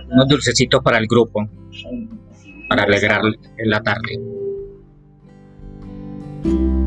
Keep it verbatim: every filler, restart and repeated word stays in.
unos dulcecitos para el grupo, para alegrar la tarde.